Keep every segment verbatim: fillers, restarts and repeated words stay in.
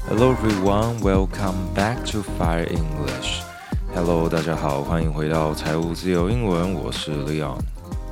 Hello everyone, welcome back to Fire English. Hello, 大家好，歡迎回到財務自由英文，我是 Leon.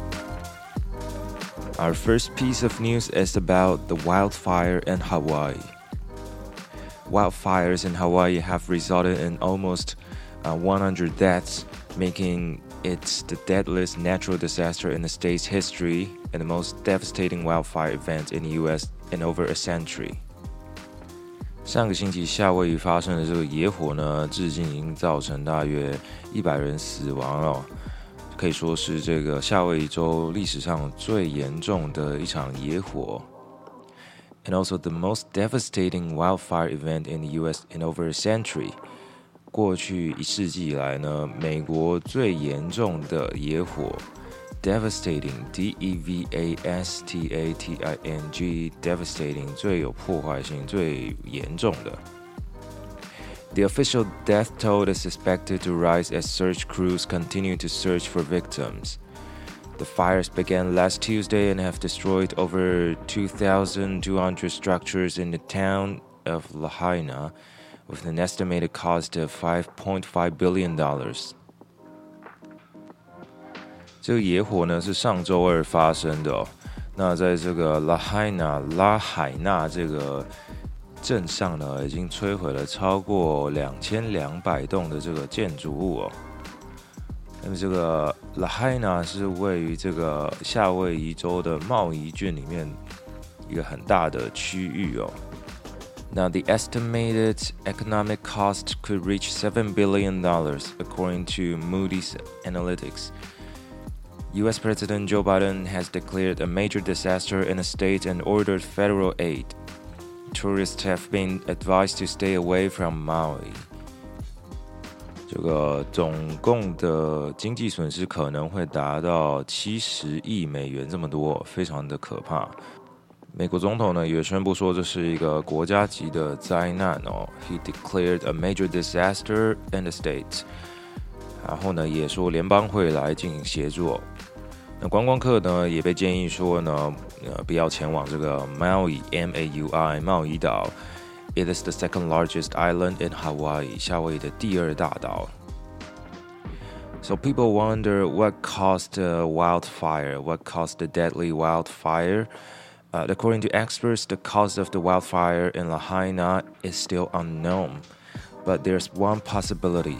Our first piece of news is about the wildfire in Hawaii. Wildfires in Hawaii have resulted in almost uh, one hundred deaths, making it the deadliest natural disaster in the state's history and the most devastating wildfire event in the U S in over a century. 上個星期夏威夷發生的這個野火呢，至今已經造成大約一百人死亡了，可以說是這個夏威夷州歷史上最嚴重的一場野火。And also the most devastating wildfire event in the U S in over a century. 過去一世紀以來呢，美國最嚴重的野火 devastating D E V A S T A T I N G devastating 最有破壞性最嚴重的。The official death toll is expected to rise as search crews continue to search for victims. The fires began last Tuesday and have destroyed over two thousand two hundred structures in the town of Lahaina, with an estimated cost of five point five billion dollars. 這個野火呢是上周二發生的哦。那在這個拉海納拉海納這個鎮上呢，已經摧毀了超過兩千兩百棟的這個建築物哦。那麼這個拉海納是位於這個夏威夷州的茂宜郡裡面一個很大的區域哦。Now, the estimated economic cost could reach seven billion dollars, according to Moody's Analytics. U S President Joe Biden has declared a major disaster in the state and ordered federal aid. Tourists have been advised to stay away from Maui. 這個總共的經濟損失可能會達到七十億美元這麼多，非常的可怕。美國總統呢也宣布說這是一個國家級的災難哦。He declared a major disaster in the state. 然後呢也說聯邦會來進行協助。那觀光客呢也被建議說呢，呃，不要前往這個 Maui M A U I 茂宜島。It is the second largest island in Hawaii. 夏威夷的第二大島。So people wonder what caused the wildfire? What caused the deadly wildfire?Uh, according to experts, the cause of the wildfire in Lahaina is still unknown, but there's one possibility.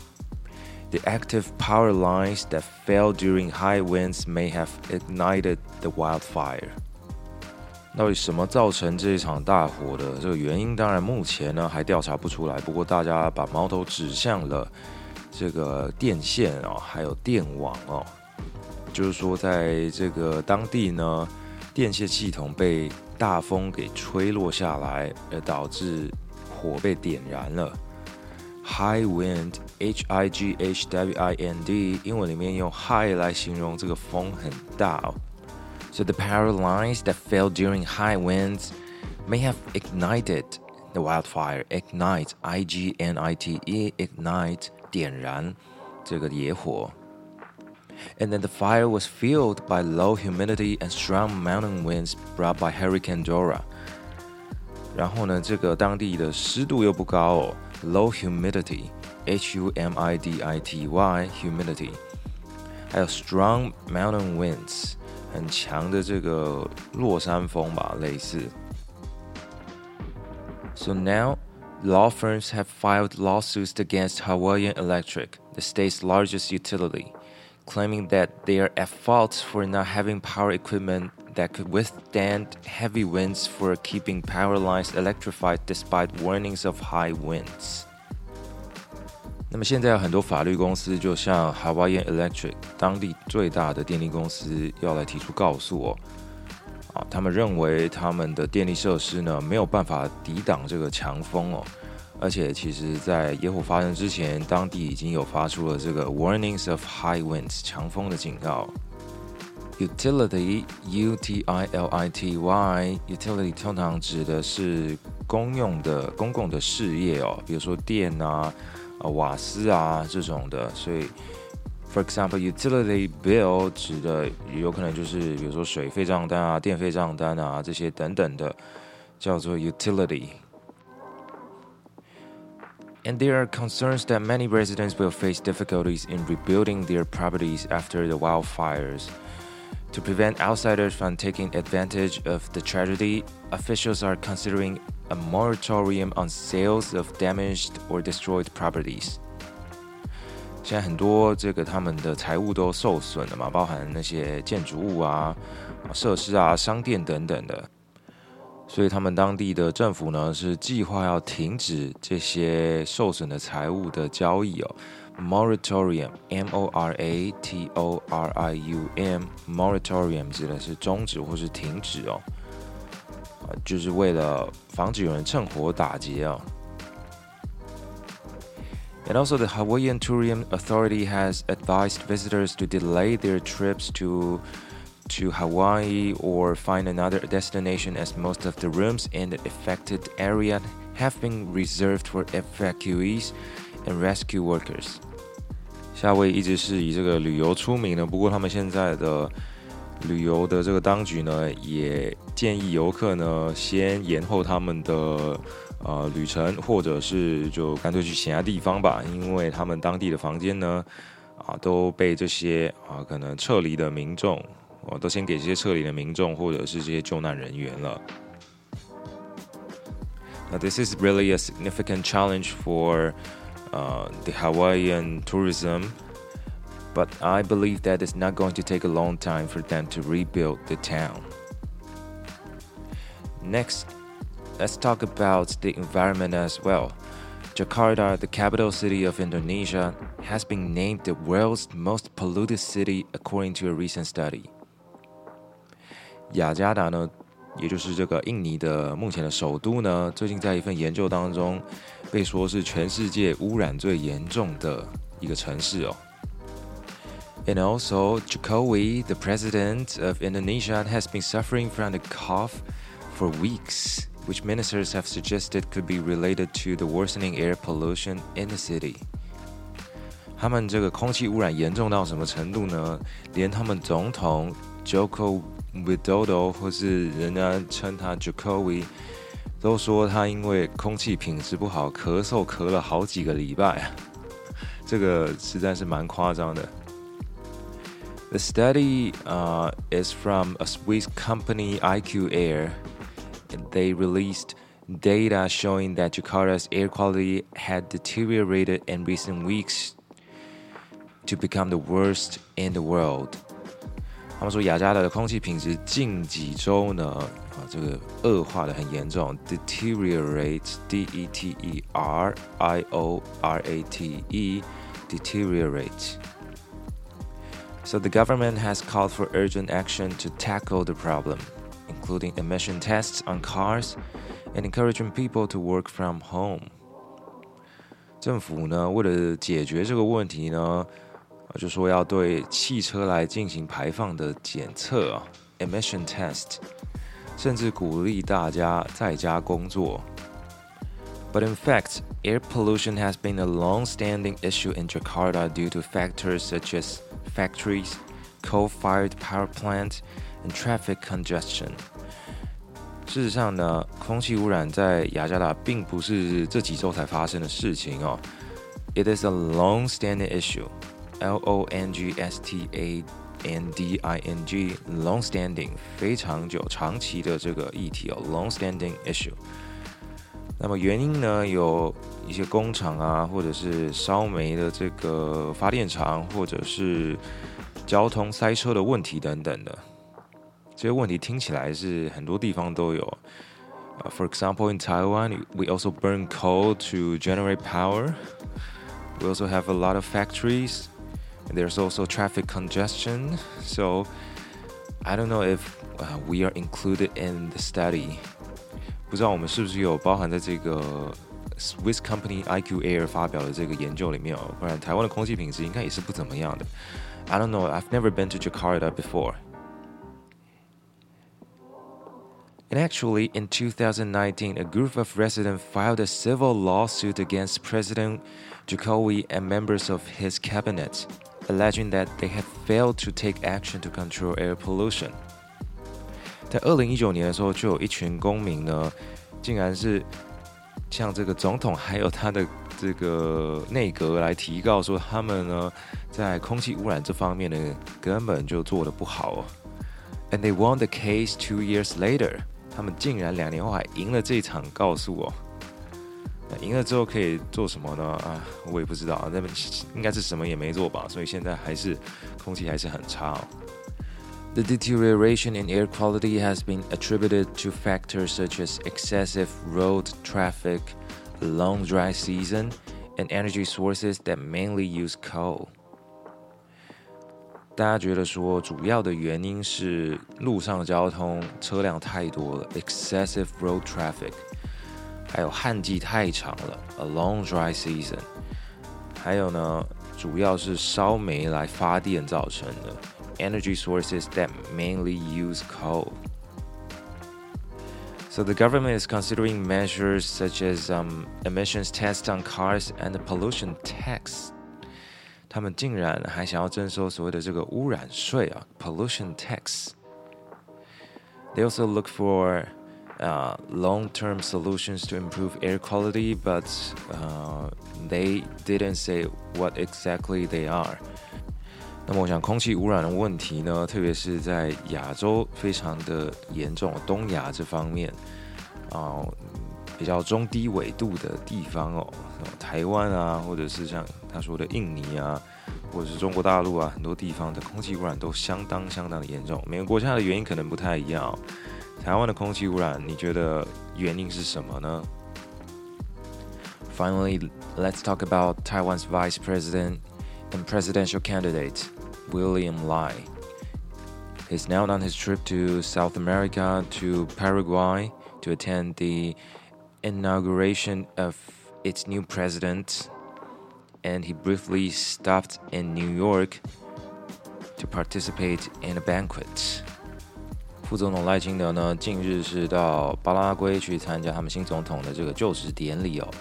The active power lines that fell during high winds may have ignited the wildfire. 到底什麼造成這一場大火的這個原因？當然目前呢還調查不出來，不過大家把矛頭指向了這個電線哦，還有電網哦，就是說在這個當地呢。電線系統被大風給吹落下來，而導致火被點燃了。High wind, H I G H W I N D， 英文裡面用 high 來形容這個風很大哦。So the power lines that fell during high winds may have ignited the wildfire. Ignite, I G N I T E, ignite 點燃這個野火。And then the fire was fueled by low humidity and strong mountain winds brought by Hurricane Dora. 然後呢，這個當地的濕度又不高哦 ，low humidity, H U M I D I T Y, humidity. 還有 strong mountain winds, 很強的這個落山風吧，類似。So now, law firms have filed lawsuits against Hawaiian Electric, the state's largest utility.Claiming that they are at fault for not having power equipment that could withstand heavy winds for keeping power lines electrified despite warnings of high winds. 那麼現在有很多法律公司，就像 Hawaiian Electric 當地最大的電力公司，要來提出告訴哦。啊，他們認為他們的電力設施呢沒有辦法抵擋這個強風哦。而且其實在野火發生之前，當地已經有發出了這個 warnings of high winds 強風的警告。Utility, U T I L I T Y, utility 通常指的是公用的公共的事業哦，比如說電啊、瓦斯啊這種的。所以 for example, utility bill 指的有可能就是比如說水費賬單啊、電費賬單啊這些等等的，叫做 utility。 And there are concerns that many residents will face difficulties in rebuilding their properties after the wildfires. To prevent outsiders from taking advantage of the tragedy, officials are considering a moratorium on sales of damaged or destroyed properties. 现在很多这個他們的財物都受損了嘛，包含那些建築物啊、設施啊、商店等等的。所以他們當地的政府呢，是計劃要停止這些受損的財物的交易哦。Moratorium, M O R A T O R I U M, moratorium 指的是終止或是停止哦，就是為了防止有人趁火打劫哦。And also, the Hawaiian Tourism Authority has advised visitors to delay their trips to to Hawaii or find another destination, as most of the rooms in the affected area have been reserved for evacuees and rescue workers. 夏威夷一直是以這個旅遊出名的，不過他們現在的旅遊的這個當局呢，也建議遊客呢先延後他們的呃旅程，或者是就乾脆去其他地方吧，因為他們當地的房間呢啊都被這些啊可能撤離的民眾。哦，都先給這些撤離的民眾或者是這些救難人員了。Now, this is really a significant challenge for uh, the Hawaiian tourism, but I believe that it's not going to take a long time for them to rebuild the town. Next, let's talk about the environment as well. Jakarta, the capital city of Indonesia, has been named the world's most polluted city according to a recent study. 雅加達呢，也就是這個印尼的目前的首都呢，最近在一份研究當中，被說是全世界污染最嚴重的一個城市哦。And also, Jokowi, the president of Indonesia, has been suffering from the cough for weeks, which ministers have suggested could be related to the worsening air pollution in the city. 他們這個空氣污染嚴重到什麼程度呢？連他們總統 Joko Widodo 或是人家稱他 Jokowi 都說他因為空氣品質不好，咳嗽咳了好幾個禮拜，這個實在是蠻誇張的。The study uh, is from a Swiss company I Q Air. They released data showing that Jakarta's air quality had deteriorated in recent weeks to become the worst in the world. 他們說雅加達的空氣品質近幾週呢，啊，這個惡化得很嚴重 ，deteriorate, D E T E R I O R A T E, deteriorate. So the government has called for urgent action to tackle the problem, including emission tests on cars and encouraging people to work from home. 政府呢，為了解決這個問題呢，就說要對汽車來進行排放的檢測啊 ，emission test， 甚至鼓勵大家在家工作。But in fact, air pollution has been a long-standing issue in Jakarta due to factors such as factories, coal-fired power plants, and traffic congestion. 事實上呢，空氣污染在雅加達並不是這幾週才發生的事情哦。It is a long-standing issue. L O N G S T A N D I N G, long-standing, 非常久、長期的這個議題哦 ，long-standing issue。那麼原因呢，有一些工廠啊，或者是燒煤的這個發電廠，或者是交通塞車的問題等等的。這些問題聽起來是很多地方都有。Uh, for example, in Taiwan, we also burn coal to generate power. We also have a lot of factories. And there's also traffic congestion. So I don't know if uh, we are included in the study. 不知道我們是不是有包含在這個 Swiss company I Q Air 發表的這個研究裡面哦？不然台灣的空氣品質應該也是不怎麼樣的。I don't know. I've never been to Jakarta before. And actually, in two thousand nineteen, a group of residents filed a civil lawsuit against President Jokowi and members of his cabinet, alleging that they had failed to take action to control air pollution. 在二零一九年的時候，就有一群公民呢，竟然是向這個總統還有他的這個內閣來提告說，他們呢在空氣污染這方面呢根本就做得不好哦。And they won the case two years later， 他們竟然兩年後還贏了這場告訴哦。那贏了之後可以做什麼呢？啊，我也不知道，那應該是什麼也沒做吧，所以現在還是空氣還是很差哦。The deterioration in air quality has been attributed to factors such as excessive road traffic, a long dry season, and energy sources that mainly use coal. 大家覺得說，主要的原因是路上交通車輛太多了 ，excessive road traffic， 還有旱季太長了 ，a long dry season， 還有呢，主要是燒煤來發電造成的。Energy sources that mainly use coal. So the government is considering measures such as um, emissions tests on cars and the pollution tax. 他們竟然還想要徵收所謂的這個污染稅啊 ，pollution tax. They also look for uh, long-term solutions to improve air quality, but uh, they didn't say what exactly they are.那麼我想空氣污染的問題呢，特別是在亞洲非常的嚴重，東亞這方面啊、呃，比較中低緯度的地方哦，台灣啊，或者是像他說的印尼啊，或者是中國大陸啊，很多地方的空氣污染都相當相當的嚴重。每個國家的原因可能不太一樣哦。台灣的空氣污染，你覺得原因是什麼呢？ Finally, let's talk about Taiwan's Vice President and presidential candidate.William Lai. He's now on his trip to South America to Paraguay to attend the inauguration of its new president, and he briefly stopped in New York to participate in a banquet. 副總統賴清德呢，近日是到巴拉圭去參加他們新總統的這個就職典禮哦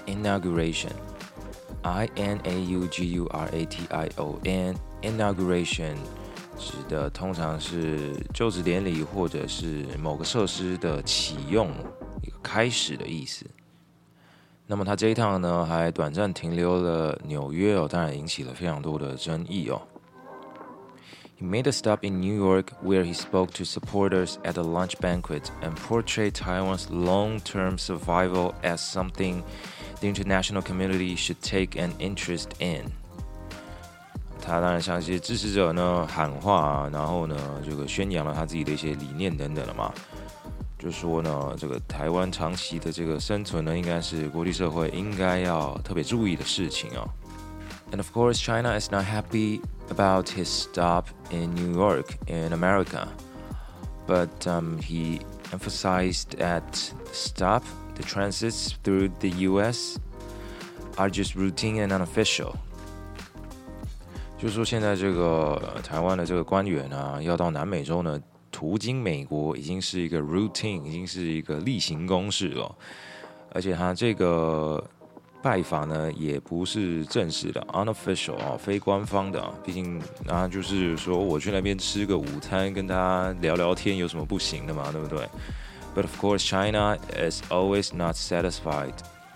，inauguration。I N A U G U R A T I O N Inauguration 指的通常是就職典禮或者是某個設施的啟用，一個開始的意思。那麼他這一趟呢，還短暫停留了紐約哦，當然引起了非常多的爭議哦。He made a stop in New York where he spoke to supporters at a lunch banquet and portrayed Taiwan's long-term survival as something the international community should take an interest in. 他當然向一些支持者呢喊話啊，然後呢，這個宣揚了他自己的一些理念等等了嘛，就說呢，這個台灣長期的這個生存呢，應該是國際社會應該要特別注意的事情哦。And of course, China is not happy about his stop in New York in America, but um, he emphasized that the stop, the transits through the U S are just routine and unofficial. 就是說，現在這個台灣的這個官員啊，要到南美洲呢，途經美國已經是一個 routine， 已經是一個例行公事了，而且他這個拜訪呢，也不是正式的 unofficial 啊，非官方的啊。畢竟啊，就是說我去那邊吃個午餐，跟大家聊聊天，有什麼不行的嘛，對不對？ But of course, China is always not satisfied.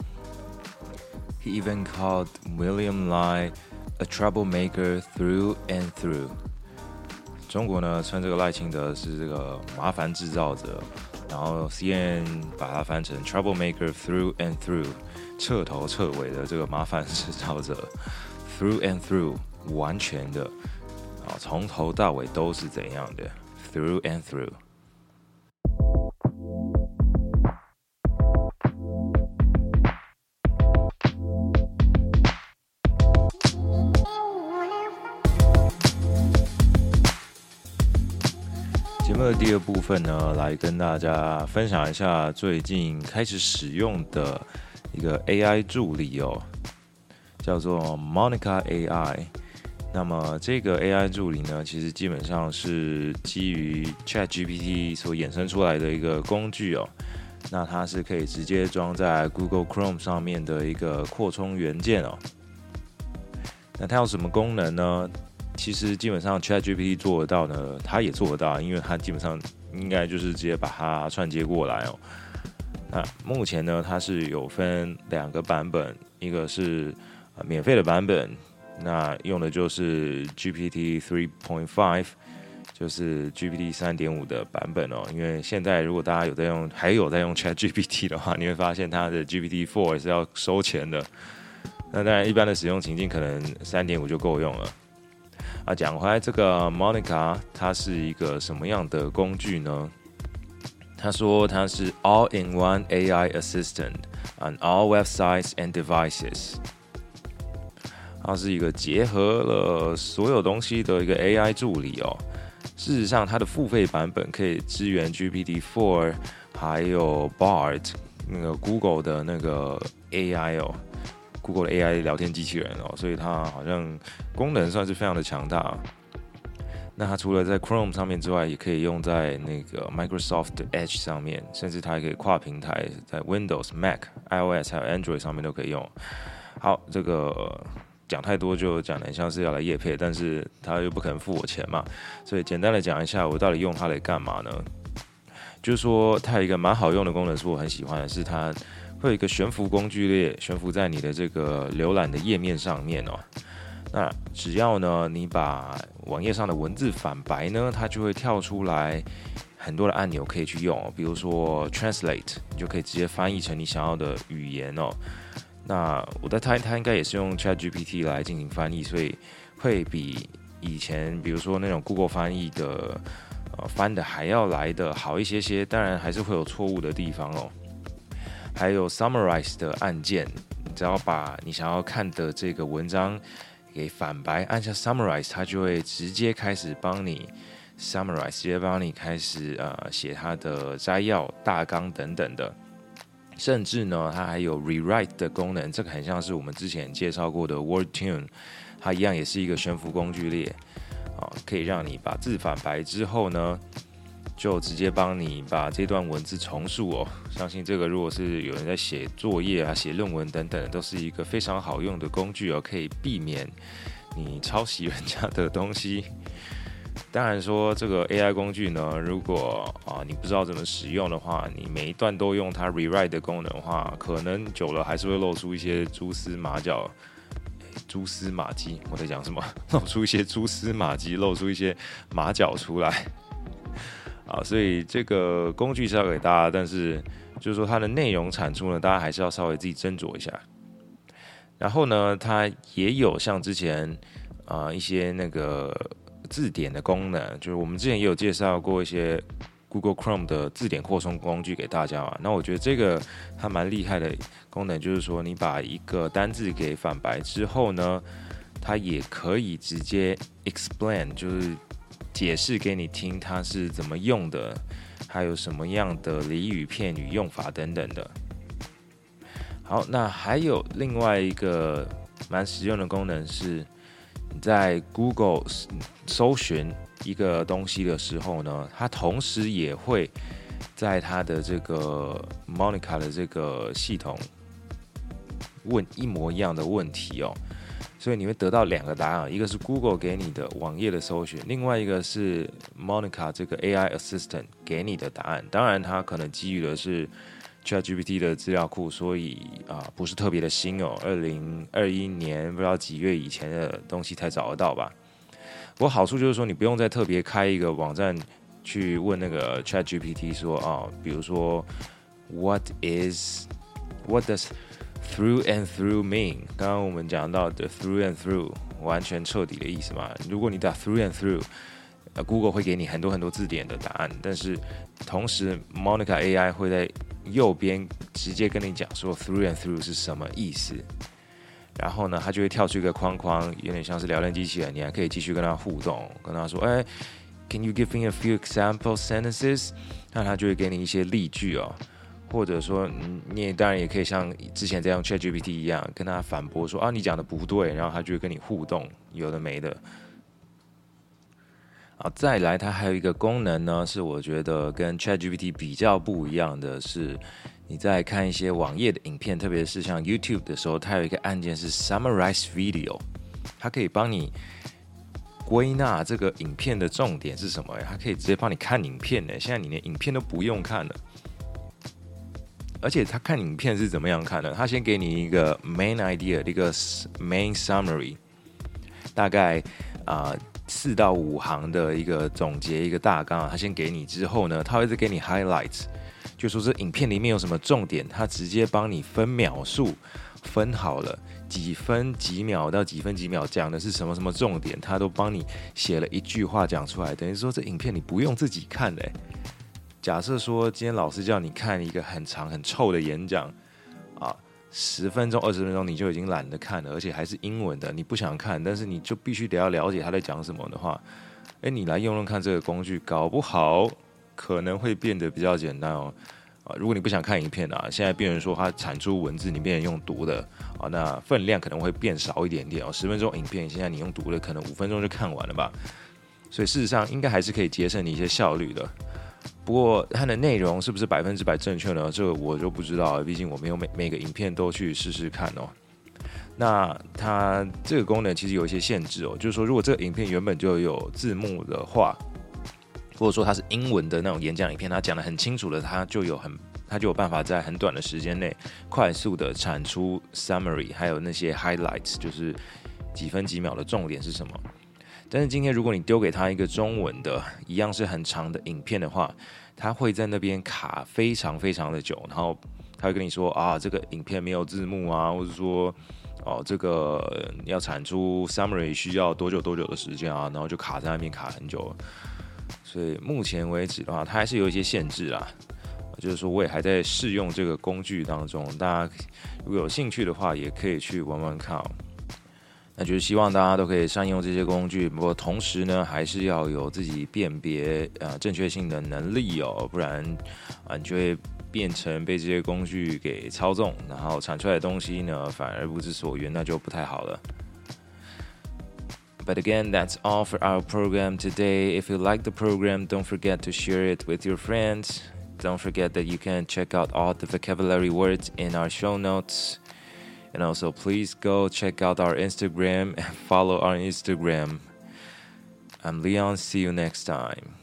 He even called William Lai a troublemaker through and through. 中國呢，稱這個賴清德是這個麻煩製造者，然後 C N N 把它翻成 troublemaker through and through。徹頭徹尾的這個麻煩製造者 ，through and through， 完全的，啊，從頭到尾都是怎樣的 ，through and through。節目的第二部分呢，來跟大家分享一下最近開始使用的一個 A I 助理哦，叫做 Monica A I。那麼這個 A I 助理呢，其實基本上是基於 ChatGPT 所衍生出來的一個工具哦。那它是可以直接裝在 Google Chrome 上面的一個擴充元件哦。那它有什麼功能呢？其實基本上 ChatGPT 做得到呢，它也做得到，因為它基本上應該就是直接把它串接過來哦。 那目前呢，它是有分兩個版本，一個是呃免費的版本，那用的就是 G P T three point five， 就是 G P T 三點五 的版本哦。因為現在如果大家有在用，還有在用 ChatGPT 的話，你會發現它的 G P T four 也是要收錢的。那當然，一般的使用情境可能 三點五 就夠用了。啊，講回來，這個 Monica 它是一個什麼樣的工具呢？他說它是 All-in-one A I Assistant on all websites and devices。它是一個結合了所有東西的一個 A I 助理哦。事實上，它的付費版本可以支援 G P T four， 還有 Bard 那個 Google 的那個 A I 哦。Google 的 A I 聊天機器人哦，所以它好像功能算是非常的強大。那它除了在 Chrome 上面之外，也可以用在那個 Microsoft Edge 上面，甚至它也可以跨平台，在 Windows、Mac、iOS 還有 Android 上面都可以用。好，這個講太多就講得像是要來業配，但是它又不可能付我錢嘛，所以簡單的講一下，我到底用它來幹嘛呢？就是說，它有一個蠻好用的功能，是我很喜歡的，是它會有一個懸浮工具列懸浮在你的這個瀏覽的頁面上面哦。那只要呢你把網頁上的文字反白呢，它就會跳出來很多的按鈕可以去用哦。比如說 Translate， 你就可以直接翻譯成你想要的語言哦。那我在猜，它應該也是用 ChatGPT 來進行翻譯，所以會比以前比如說那種 Google 翻譯的呃翻的還要來的好一些些。當然還是會有錯誤的地方哦。還有 Summarize 的按鍵，你只要把你想要看的這個文章給反白，按下 Summarize， 它就會直接開始幫你 Summarize， 直接幫你開始呃寫它的摘要、大綱等等的。甚至呢，它還有 Rewrite 的功能，這個很像是我們之前介紹過的 WordTune， 它一樣也是一個懸浮工具列，啊，可以讓你把字反白之後呢，就直接幫你把這段文字重述哦。相信這個如果是有人在寫作業啊、寫論文等等，都是一個非常好用的工具哦，可以避免你抄襲人家的東西。當然說這個 A I 工具呢，如果啊你不知道怎麼使用的話，你每一段都用它 rewrite 的功能的話，可能久了還是會露出一些蛛絲馬腳。蛛絲馬跡，我在講什麼？露出一些蛛絲馬跡，露出一些馬腳出來。啊，所以這個工具是要給大家，但是就是說它的內容產出呢，大家還是要稍微自己斟酌一下。然後呢，它也有像之前啊、呃、一些那個字典的功能，就是我們之前也有介紹過一些 Google Chrome 的字典擴充工具給大家嘛。那我覺得這個它蠻厲害的功能，就是說你把一個單字給反白之後呢，它也可以直接 explain， 就是解釋給你聽它是怎麼用的，還有什麼樣的俚語片語用法等等的。好，那還有另外一個蠻實用的功能是，你在 Google 搜尋一個東西的時候呢，它同時也會在它的這個 Monica 的這個系統問一模一樣的問題哦。所以你會得到兩個答案，一個是 Google 給你的網頁的搜尋，另外一個是 Monica 這個 A I Assistant 給你的答案。當然，它可能基於的是 ChatGPT 的資料庫，所以啊、呃、不是特別的新哦，二零二一年不知道幾月以前的東西才找得到吧。不過好處就是說，你不用再特別開一個網站去問那個 ChatGPT 說啊、呃，比如說 What is What does Through and through mean， 剛剛我們講到的 through and through 完全徹底的意思嘛。如果你打 through and through， Google 會給你很多很多字典的答案，但是同時 Monica A I 會在右邊直接跟你講說 through and through 是什麼意思。然後呢，它就會跳出一個框框，有點像是聊天機器人，你還可以繼續跟它互動，跟它說，哎 ，Can you give me a few example sentences？ 那它就會給你一些例句哦。或者說，你也當然也可以像之前這樣 ChatGPT 一樣，跟他反駁說啊，你講的不對，然後他就會跟你互動，有的沒的。啊，再來，它還有一個功能呢，是我覺得跟 ChatGPT 比較不一樣的是，你在看一些網頁的影片，特別是像 YouTube 的時候，它有一個按鍵是 Summarize Video， 它可以幫你歸納這個影片的重點是什麼，它可以直接幫你看影片呢。現在你連影片都不用看了。 而且他看影片是怎麼樣看的？他先給你一個 main idea， 一個 main summary， 大概啊四、呃、到五行的一個總結，一個大綱啊。他先給你之後呢，他會再給你 highlights， 就說這影片裡面有什麼重點，他直接幫你分秒數分好了。幾分幾秒到幾分幾秒講的是什麼什麼重點，他都幫你寫了一句話講出來，等於說這影片你不用自己看的。假設說今天老師叫你看一個很長很臭的演講啊，十分鐘二十分鐘你就已經懶得看了，而且還是英文的，你不想看，但是你就必須得要了解他在講什麼的話，哎，你來用用看這個工具，搞不好可能會變得比較簡單哦。如果你不想看影片啊，現在變成說它產出文字，你變成用讀的啊，那分量可能會變少一點點哦。十分鐘影片，現在你用讀的，可能五分鐘就看完了吧。所以事實上應該還是可以節省你一些效率的。不過它的內容是不是百分之百正確呢？這個我就不知道了，畢竟我沒有每每個影片都去試試看哦。那它這個功能其實有一些限制哦，就是說如果這個影片原本就有字幕的話，或者說它是英文的那種演講影片，它講得很清楚的，它就有很，它就有辦法在很短的時間內快速的產出 summary， 還有那些 highlights， 就是幾分幾秒的重點是什麼。但是今天如果你丟給他一個中文的，一樣是很長的影片的話，他會在那邊卡非常非常的久，然後他會跟你說啊，這個影片沒有字幕啊，或者說哦，這個要產出 summary 需要多久多久的時間啊，然後就卡在那邊卡很久。所以目前為止的話，它還是有一些限制啦。就是說，我也還在試用這個工具當中，大家如果有興趣的話，也可以去玩玩看哦。那就是希望大家都可以善用這些工具，不過同時呢，還是要有自己辨別呃正確性的能力哦，不然啊你就會變成被這些工具給操縱，然後產出來的東西呢反而不知所云，那就不太好了。But again, that's all for our program today. If you like the program, don't forget to share it with your friends. Don't forget that you can check out all the vocabulary words in our show notes. And also, please go check out our Instagram and follow our Instagram. I'm Leon. See you next time.